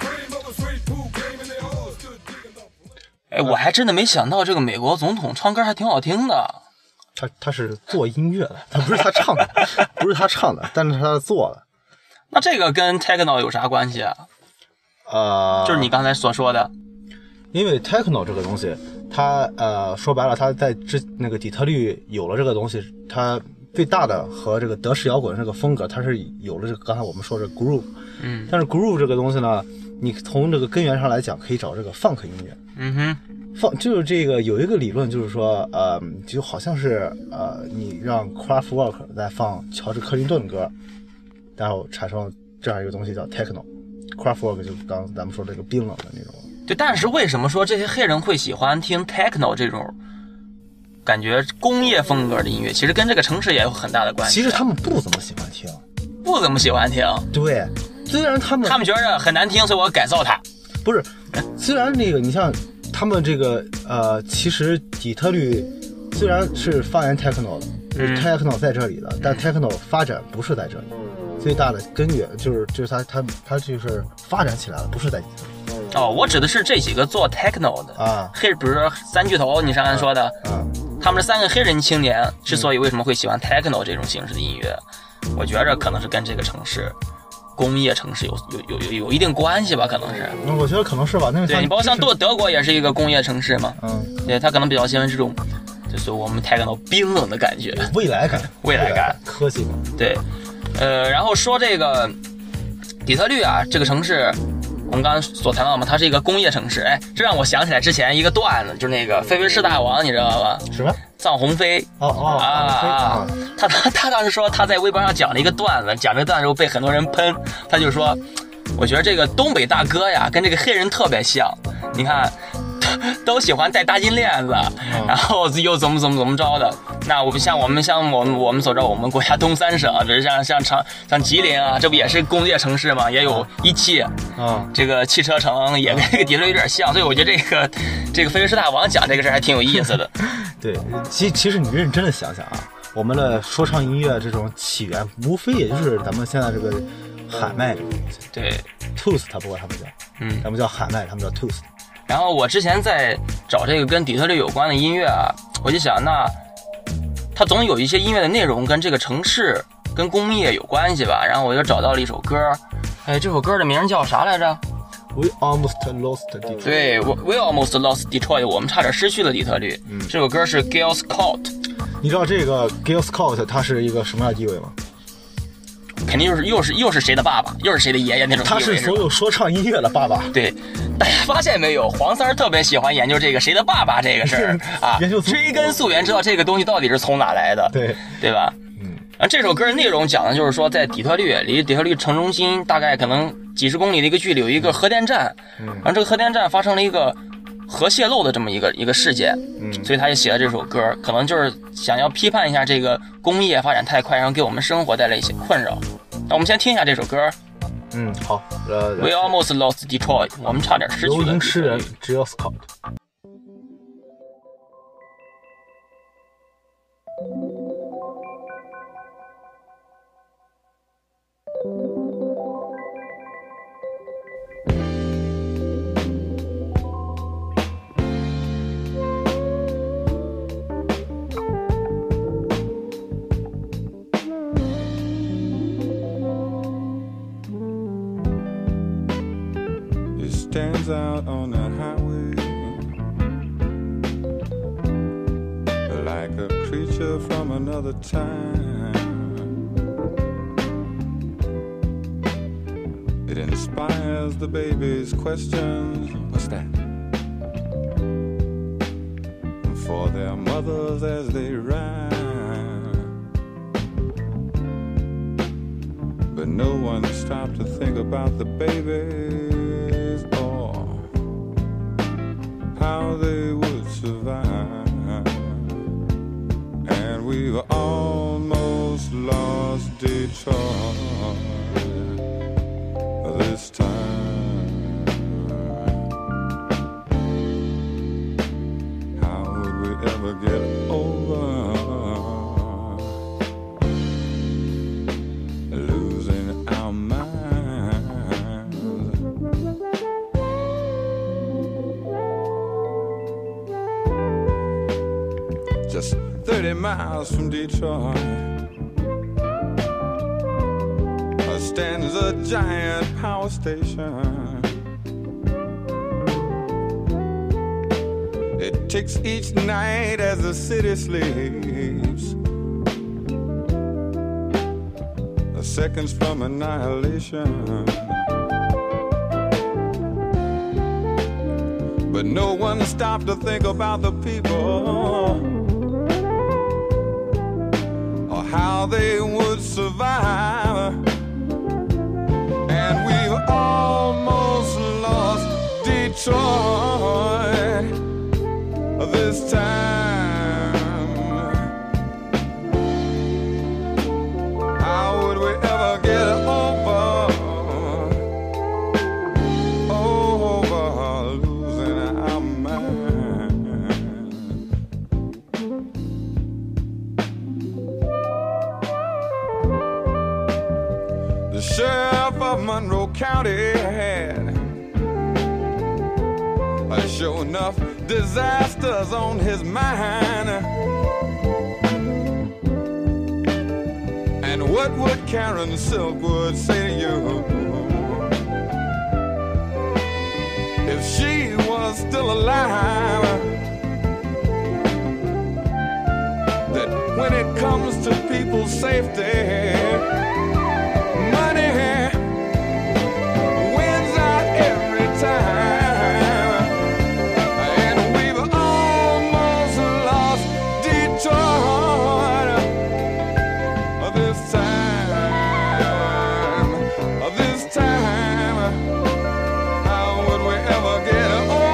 哎，我还真的没想到这个美国总统唱歌还挺好听的。 他他是做音乐的，他不是他唱的，不是他唱的，但是他做的。 那这个跟 techno 有啥关系啊？ 呃， 就是你刚才所说的， 因为 techno 这个东西，它呃说白了，它在之那个底特律有了这个东西，它最大的和这个德式摇滚这个风格，它是有了这个刚才我们说的 groove。 嗯， 但是 groove 这个东西呢，你从这个根源上来讲，可以找这个 funk 音乐。 嗯哼。 放就是这个有一个理论，就是说，呃，就好像是呃，你让 Kraftwerk 在放乔治克林顿的歌，然后产生这样一个东西叫 techno。Kraftwerk 就刚咱们说这个冰冷的那种。 对，但是为什么说这些黑人会喜欢听 techno 这种感觉工业风格的音乐？其实跟这个城市也有很大的关系。 其实他们不怎么喜欢听， 不怎么喜欢听。 对，虽然他们他们觉得很难听，所以我要改造它。 不是，虽然那个你像。他们这个呃，其实底特律虽然是发源 techno 的，就是 techno 在这里的，但 techno 发展不是在这里，最大的根源就是就是它它它就是发展起来了，不是在底特律。 哦，我指的是这几个做 techno 的啊， 黑，比如说三巨头，你上刚才说的， 啊， 他们这三个黑人青年之所以为什么会喜欢 techno 这种形式的音乐，我觉着可能是跟这个城市工业城市有有有有有一定关系吧？可能是。 嗯，我觉得可能是吧。那个对你包括像德德国也是一个工业城市嘛。 嗯。 对，它可能比较喜欢这种，就是我们太感到冰冷的感觉， 未来感， 未来感， 科技感。 对，呃，然后说这个底特律啊，这个城市。我们刚刚所谈到嘛，它是一个工业城市，哎，这让我想起来之前一个段子，就是那个菲菲士大王，你知道吧？ 什么？ 臧鸿飞。 哦哦啊啊！他他他当时说他在微博上讲了一个段子，讲这个段子之后被很多人喷，他就说，我觉得这个东北大哥呀，跟这个黑人特别像，你看。都喜欢戴大金链子，然后又怎么怎么怎么着的。那我们像我们像我们我们所知道，我们国家东三省，就是像像长像吉林啊，这不也是工业城市嘛，也有一汽啊，这个汽车城也跟这个底特律有点像，所以我觉得这个这个菲菲士大王讲这个事还挺有意思的。 对，其其实你认真的想想啊，我们的说唱音乐这种起源，无非也就是咱们现在这个喊麦， 对 ，toast 他不过他们叫，嗯，咱们叫喊麦，他们叫 toast。 然后我之前在找这个跟底特律有关的音乐啊，我就想，那它总有一些音乐的内容跟这个城市、跟工业有关系吧。然后我就找到了一首歌，哎，这首歌的名叫啥来着 ？We almost lost Detroit。 对 ，We almost lost Detroit， 我们差点失去了底特律。嗯，这首歌是 Gil Scott。 你知道这个 Gil Scott 他是一个什么样的地位吗？ 肯定又是又是又是谁的爸爸，又是谁的爷爷那种地位。 他是所有说唱音乐的爸爸。 对，大家发现没有，黄三儿特别喜欢研究这个谁的爸爸这个事儿啊，追根溯源，知道这个东西到底是从哪来的， 对对吧？嗯。啊，这首歌的内容讲的就是说，在底特律，离底特律城中心大概可能几十公里的一个距离，有一个核电站，嗯，然后这个核电站发生了一个核泄漏的这么一个一个事件，嗯，所以他也写了这首歌，可能就是想要批判一下这个工业发展太快，然后给我们生活带来一些困扰。那我们先听一下这首歌。 嗯，好。呃 ，We almost lost Detroit， 我们差点失去了。 游吟诗人 Gil Scott。 Stands out on the highway like a creature from another time. It inspires the baby's questions. What's that? For their mothers as they rhyme. But no one stopped to think about the babies or how they would survive. And we've almost lost Detroit this time. How would we ever get over losing our minds? Just thirty miles from Detroit stands a giant power station. It ticks each night as the city sleeps, the seconds from annihilation. But no one stopped to think about the people or how they would survive. And we've almost lost Detroit this time. How would we ever get over, over losing our mind? The sheriff of Monroe County had uh, sure enough disasters on his mind. And What would Karen Silkwood say to you if she was still alive? That when it comes to people's safety, money wins out every time. And we've almost lost Detroit this time. This time, how would we ever get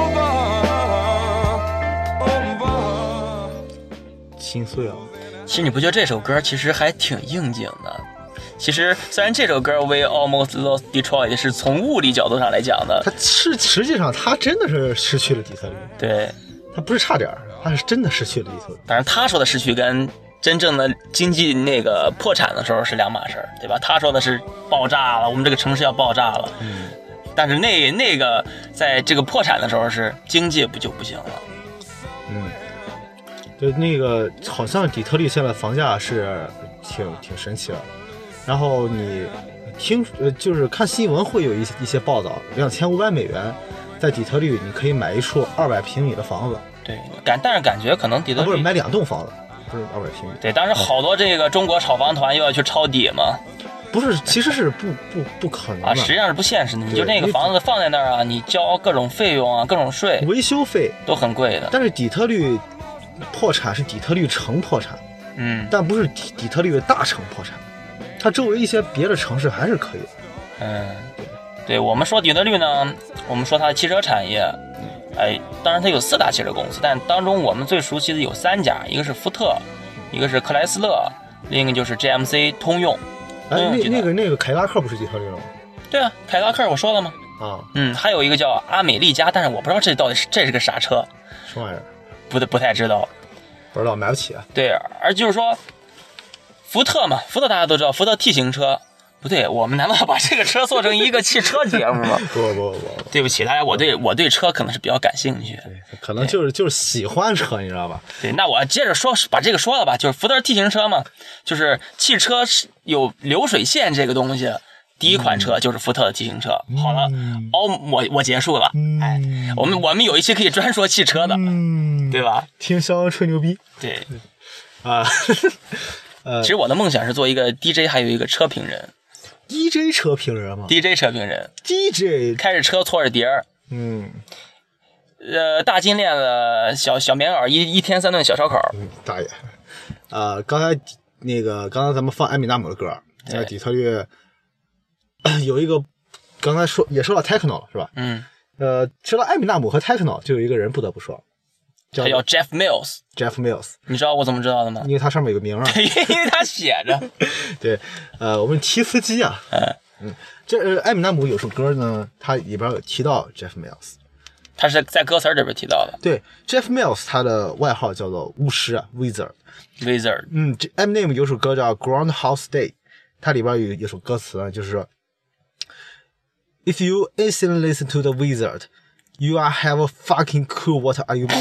over? Over. 心碎啊！ 其实你不觉得这首歌其实还挺应景的？其实虽然这首歌 We Almost Lost Detroit 是从物理角度上来讲的， 他是实际上他真的是失去了底特律， 对， 他不是差点，他是真的失去了底特律。 当然他说的失去跟真正的经济那个破产的时候是两码事儿，对吧？他说的是爆炸了，我们这个城市要爆炸了， 嗯， 但是那那个在这个破产的时候是经济不就不行了， 嗯。就那个好像底特律现在房价是挺挺神奇的，然后你听呃就是看新闻会有一些一些报道，两千五百美元在底特律你可以买一处二百平米的房子， 对，感但是感觉可能底特律、 啊、不是买两栋房子，不是二百平米， 对，但是好多这个中国炒房团又要去抄底嘛， 不是，其实是不不不可能的啊，实际上是不现实的，你就那个房子放在那儿啊，你交各种费用啊，各种税， 维修费都很贵的， 但是底特律破产是底特律城破产， 嗯， 但不是底底特律的大城破产，它周围一些别的城市还是可以的。 嗯，对，我们说底特律呢，我们说它的汽车产业，哎，当然它有四大汽车公司，但当中我们最熟悉的有三家，一个是福特，一个是克莱斯勒，另一个就是 G M C 通用。 哎，那那个那个凯迪拉克不是底特律了吗？ 对啊，凯迪拉克我说了吗？ 啊， 嗯，还有一个叫阿美利加，但是我不知道这到底是这是个啥车， 什么玩意儿？ 不不太知道， 不知道，买不起啊。 对，而就是说，福特嘛，福特大家都知道，福特 T 型车，不对，我们难道要把这个车做成一个汽车节目吗？ 不不不不， 对不起大家，我对我对车可能是比较感兴趣， 对，可能就是就是喜欢车，你知道吧？ 对，那我接着说，把这个说了吧，就是福特 T 型车嘛，就是汽车是有流水线这个东西。第一款车就是福特的 T 型车。嗯、好了，哦，我我结束了。嗯、哎，我们我们有一期可以专说汽车的，嗯、对吧？ 听肖恩吹牛逼。 对， 啊，呃， 其实我的梦想是做一个 D J， 还有一个车评人。 D J 车评人吗 ？D J 车评人。 D J 开着车搓着碟儿。 嗯。 呃，大金链子，小小棉袄，一一天三顿小烧烤。 嗯，大爷。呃，刚才那个刚才咱们放艾米纳姆的歌，在底特律。有一个，刚才说也说到 techno 了是吧？ 嗯， 呃，说到艾米纳姆和 techno， 就有一个人不得不说， 叫他叫 Jeff Mills。 Jeff Mills， 你知道我怎么知道的吗？ 因为他上面有个名啊。 因为他写着。 对，呃，我们提司机啊， 嗯嗯，这、呃、艾米纳姆有首歌呢，他里边有提到 Jeff Mills， 他是在歌词这边提到的。 对 ，Jeff Mills 他的外号叫做巫师啊 ，Wizard。Wizard。嗯，这 Eminem 有首歌叫 Groundhog Day， 它里边有一首歌词呢，就是说。If you instantly listen to the wizard, you are have a fucking clue what are you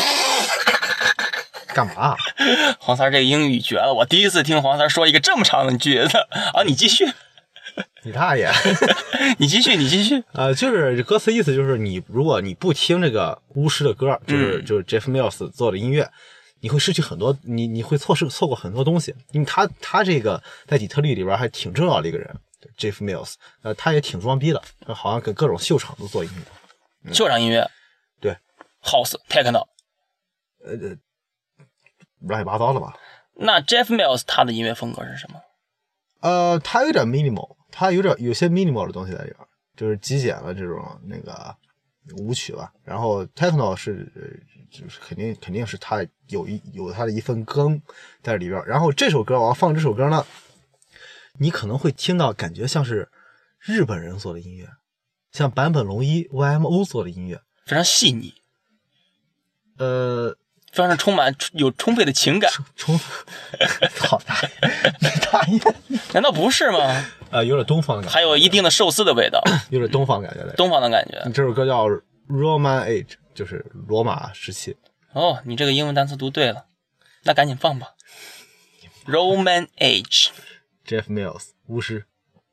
干嘛？ 黄三这个英语绝了！我第一次听黄三说一个这么长的句子啊！你继续， 你大爷！ 你继续，你继续。 呃，就是歌词意思就是你，如果你不听这个巫师的歌，就是、嗯、就是 Jeff Mills 做的音乐，你会失去很多，你你会错失错过很多东西，因为他他这个在底特律里边还挺重要的一个人。Jeff Mills， 呃，他也挺装逼的，好像跟各种秀场都做音乐。 嗯、秀场音乐， 对 ，House Techno， 呃，乱七八糟的吧？ 那 Jeff Mills 他的音乐风格是什么？ 呃，他有点 minimal， 他有点有些 minimal 的东西在里边，就是极简的这种那个舞曲吧。然后 Techno 是，就是肯定肯定是他有一有他的一份根在里边。然后这首歌我要放这首歌呢。你可能会听到感觉像是日本人做的音乐，像坂本龙一 Y M O 做的音乐， 非常细腻， 呃， 非常充满有充沛的情感。 充，好大爷，大爷， 难道不是吗？ 呃，有点东方的感觉， 还有一定的寿司的味道， 有点东方感觉的， 东方的感觉。 这首歌叫 Roman Age， 就是罗马时期。 哦，你这个英文单词读对了，那赶紧放吧。Roman Age。 Jeff Mills 巫师。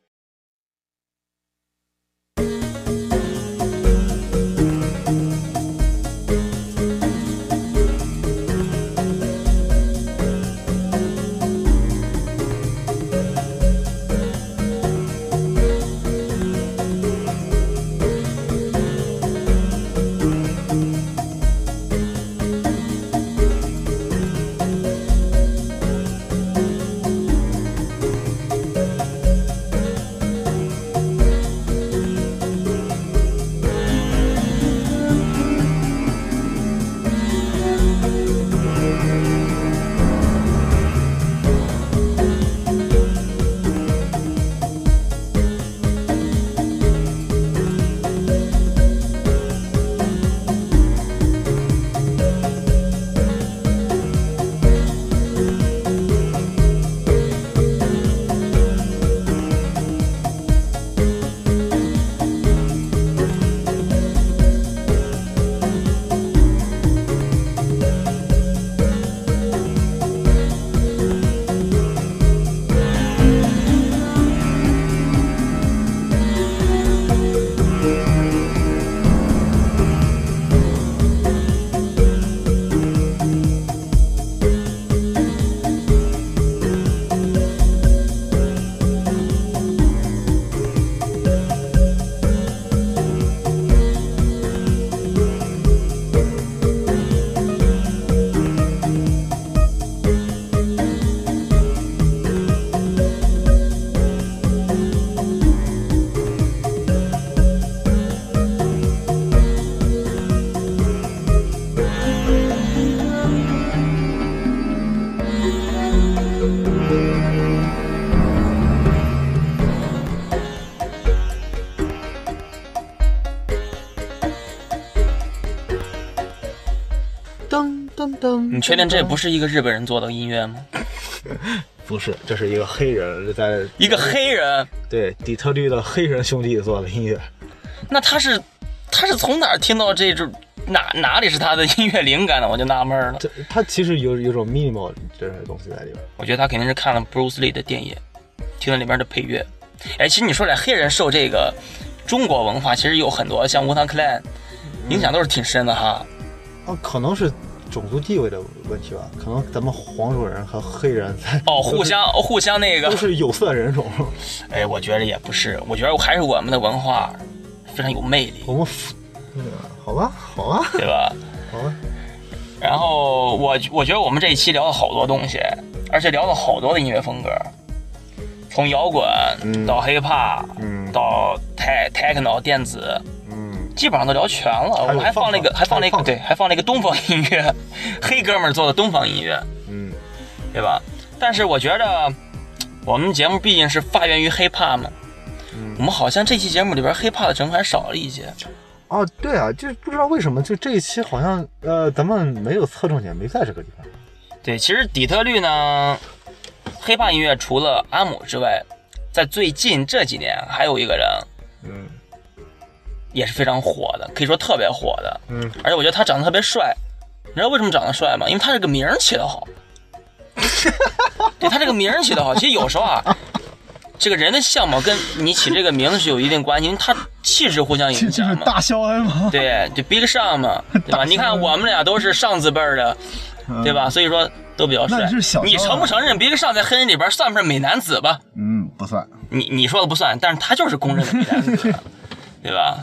噔噔噔！ 你确定这不是一个日本人做的音乐吗？ 不是，这是一个黑人在一个黑人对底特律的黑人兄弟做的音乐。 那他是他是从哪儿听到这种哪哪里是他的音乐灵感呢？我就纳闷了。 这他其实有有种 minimal 这种东西在里边。 我觉得他肯定是看了 Bruce Lee 的电影，听了里边的配乐。哎，其实你说来黑人受这个中国文化，其实有很多像Wu-Tang Clan影响都是挺深的哈。 哦，可能是种族地位的问题吧，可能咱们黄种人和黑人在哦互相互相那个都是有色人种。 哎，我觉得也不是，我觉得还是我们的文化非常有魅力。 我们嗯，好吧，好吧， 对吧？ 好吧。 然后我我觉得我们这一期聊了好多东西，而且聊了好多的音乐风格，从摇滚到 hiphop，嗯，到 techno 电子。基本上都聊全了，我们还放了一个，还放了一个，对，还放了一个东方音乐，黑哥们儿做的东方音乐，嗯，对吧？但是我觉得我们节目毕竟是发源于 hiphop 嘛，嗯，我们好像这期节目里边 hiphop 的成分还少了一些。 哦，对啊，就不知道为什么，就这一期好像呃，咱们没有侧重点，没在这个地方。 对，其实底特律呢 ，hiphop 音乐除了阿姆之外，在最近这几年还有一个人，嗯。也是非常火的，可以说特别火的，嗯，而且我觉得他长得特别帅，你知道为什么长得帅吗？因为他这个名儿起得好，对他这个名儿起得好。其实有时候啊，这个人的相貌跟你起这个名字是有一定关系，因为他气质互相影响嘛。 就是大肖恩嘛， 对，就 Big Sean 嘛，对吧？你看我们俩都是上字辈的，对吧？所以说都比较帅。你承不承认 Big Sean 在黑人里边算不算美男子吧？ 嗯，不算。 你你说的不算，但是他就是公认的美男子。对吧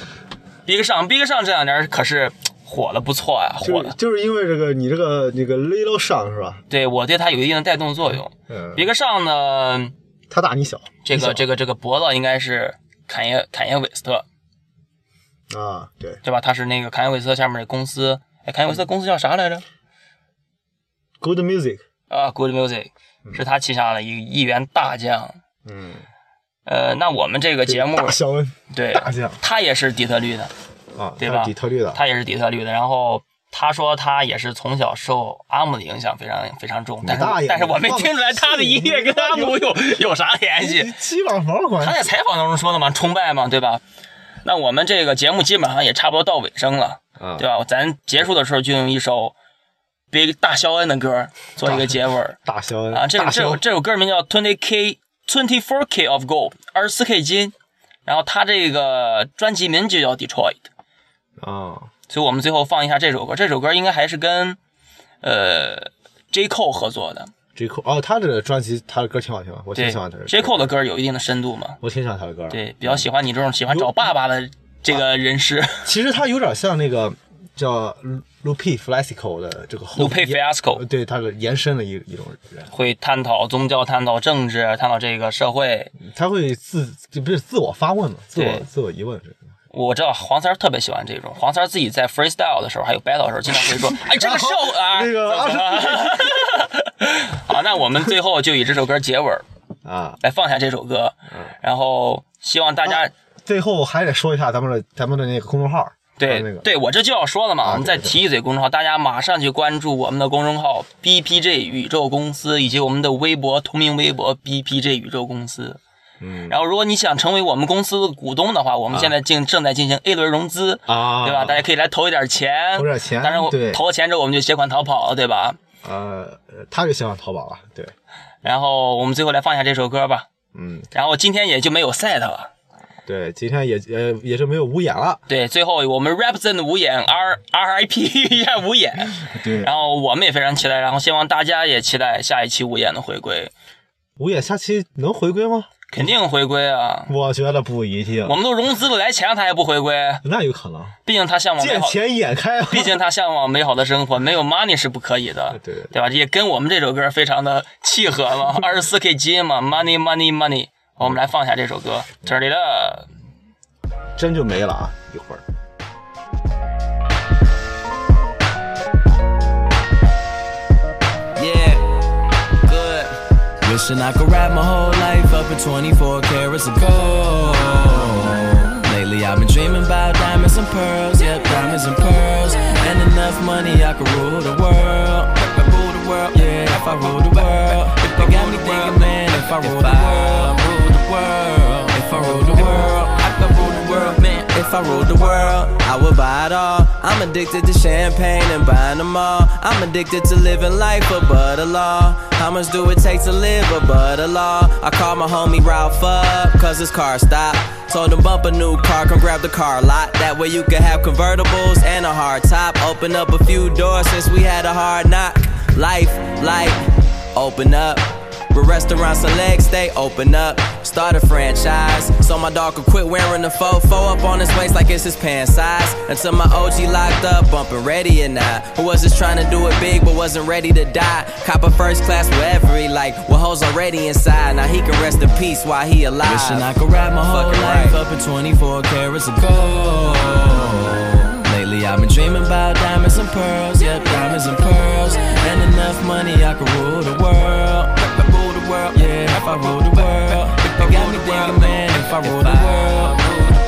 ？Big Sean Big Sean 这两年可是火的不错呀，火的就就是因为这个你这个那个 Little Sean 是吧？ 对，我对他有一定的带动作用。嗯、Big Sean 呢， 他大你小， 这个这个这个脖子应该是坎耶坎耶韦斯特啊，对对吧？他是那个坎耶韦斯特下面的公司，哎，坎耶韦斯特公司叫啥来着 ？Good Music 啊 ，Good Music、嗯、是他旗下的一个亿元大将。嗯。呃，那我们这个节目， 大肖恩， 对， 大将， 他也是底特律的， 啊， 对吧？ 底特律的， 他也是底特律的。然后他说他也是从小受阿姆的影响非常非常重，但是但是我没听出来他的音乐跟阿姆有有啥联系？ 鸡巴毛关系？ 他在采访当中说的嘛，崇拜嘛，对吧？那我们这个节目基本上也差不多到尾声了，啊、对吧？咱结束的时候就用一首 Big 大肖恩的歌做一个结尾。 大肖恩啊，这这首这首歌名叫 twenty K twenty four K of Gold 二十四 K 金，然后他这个专辑名就叫 Detroit 啊， 所以我们最后放一下这首歌。这首歌应该还是跟呃 J Cole 合作的。 J Cole 哦，他的专辑他的歌挺好听，我挺喜欢他的。 J Cole 的歌有一定的深度嘛， 我挺喜欢他的歌。 对，比较喜欢你这种喜欢找爸爸的这个人士。 其实他有点像那个叫 Lupe Fiasco 的这个 Lupe Fiasco， 对他的延伸的一一种人， 会探讨宗教、探讨政治、探讨这个社会。 他会自不是自我发问嘛，自我自我疑问。 我知道黄三特别喜欢这种，黄三自己在 freestyle 的时候，还有 battle 的时候，经常会说：“哎，这个 show 啊， 那个。” 好，那我们最后就以这首歌结尾啊， 来放下这首歌，然后希望大家、 啊、最后还得说一下咱们的咱们的那个公众号。 对、 那个、 对，我这就要说了嘛， 啊、 我们再提一嘴公众号，大家马上去关注我们的公众号 B P J 宇宙公司，以及我们的微博同名微博 B P J 宇宙公司。 嗯， 然后如果你想成为我们公司的股东的话，我们现在正正在进行 A 轮融资啊， 对吧？大家可以来投一点钱， 投点钱， 当然我投了钱之后我们就携款逃跑了，对吧？ 呃，他就希望淘宝了，对。 然后我们最后来放下这首歌吧， 嗯。 然后今天也就没有 set 了， 对，今天也呃也是没有五眼了。 对，最后我们 represent 五眼 R R I P 一下五眼， 对。 然后我们也非常期待，然后希望大家也期待下一期五眼的回归。 五眼下期能回归吗？ 肯定回归啊！ 我觉得不一定。 我们都融资了来钱，他还不回归？ 那有可能。 毕竟他向往美好， 见钱眼开。 毕竟他向往美好的生活，没有 money 是不可以的， 对对对吧？也跟我们这首歌非常的契合嘛，二十四 K 基因嘛 ，money money money。我们来放下这首歌，这里的真就没了啊！一会儿。 Wishing I could wrap my whole life up in twenty-four carats of gold. Lately I've been dreaming about diamonds and pearls, yep, diamonds and pearls. And enough money I could rule the world. If I rule the world, yeah, if I rule the world. They got me thinking, man, if I rule the world, rule the world. If I rule the world, I could rule the world, man. If I ruled the world, I would buy it all. I'm addicted to champagne and buying them all. I'm addicted to living life above the law. How much do it take to live above the law? I called my homie Ralph up, cause his car stopped. Told him bump a new car, come grab the car lot. That way you could have convertibles and a hard top. Open up a few doors since we had a hard knock. Life, life, open up. But restaurants and legs, they open up. Start a franchise, so my dog could quit wearing the fofo up on his waist like it's his pants size. Until my O G locked up, bumping ready or not. Who was just trying to do it big but wasn't ready to die. Cop a first class wherever he like, with hoes already inside. Now he can rest in peace while he alive. Wishing I could wrap my whole life up in twenty-four carats of gold. Lately I've been dreaming about diamonds and pearls, yep, diamonds and pearls. And enough money I could rule the world. If I rule the world, yeah, if I rule the world. They got me thinking, man, if I rule the world,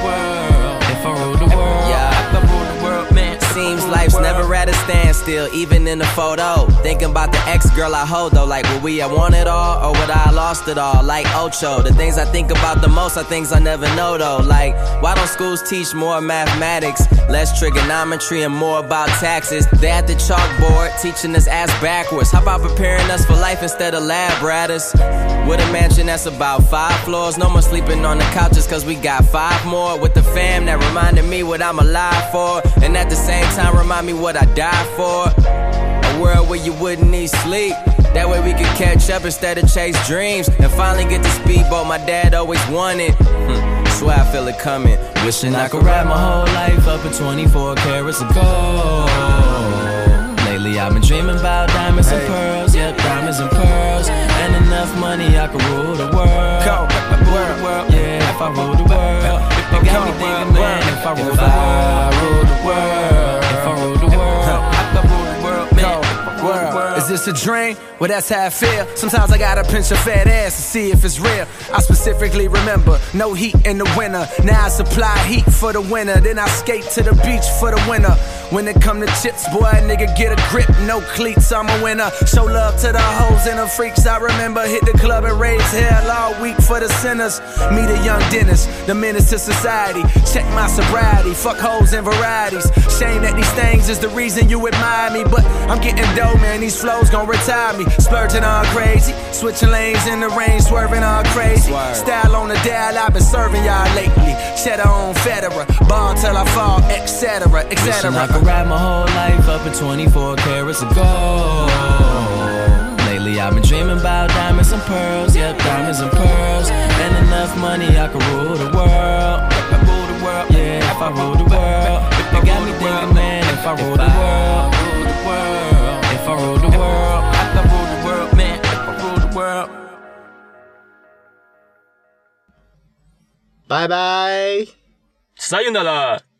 if I rule the world, yeah, if I rule the world, man. Seems life's never at a standstill, even in the photo. Thinking about the ex-girl I hold though, like would we have won it all, or would I have lost it all, like Ocho. The things I think about the most are things I never know though. Like, why don't schools teach more mathematics, less trigonometry and more about taxes? They at the chalkboard, teaching us ass backwards. How about preparing us for life instead of lab rats? With a mansion that's about five floors, no more sleeping on the couches cause we got five more. With the fam that reminded me what I'm alive for, and at the same time remind me what I died for. A world where you wouldn't need sleep, that way we could catch up instead of chase dreams. And finally get the speedboat my dad always wanted. hmm. Swear I feel it coming. Wishing I could wrap my whole life up in twenty-four carats of gold. Lately I've been dreaming about diamonds hey. and pearls, yep, diamonds and pearls. And enough money I could rule the world. Go. If I rule the world, yeah, if I rule the world. They got me thinking, man, if I rule the world, the world, if I rule the world, I could rule the world, man. World. Is this a dream? Well, that's how I feel. Sometimes I gotta pinch a fat ass to see if it's real. I specifically remember no heat in the winter. Now I supply heat for the winter. Then I skate to the beach for the winter. When it come to chips, boy, nigga get a grip, no cleats, I'm a winner. Show love to the hoes and the freaks, I remember. Hit the club and raise hell all week for the sinners. Meet a young dentist, the menace to society. Check my sobriety, fuck hoes and varieties. Shame that these things is the reason you admire me, but I'm getting dough, man, these flows gon' retire me. Splurging all crazy, switching lanes in the rain, swerving all crazy. Style on the dial, I've been serving y'all lately. Cheddar on Federer, ball till I fall, et cetera, et cetera. I could ride my whole life up in twenty-four carats of gold. Lately I've been dreaming about diamonds and pearls, yep, diamonds and pearls. And enough money I could rule the world. If I rule the world, yeah, if I rule the world. It got me thinking, man, if I rule the world, if I rule the world, I could rule the world, man, if I rule the world. 拜拜。 sayonara。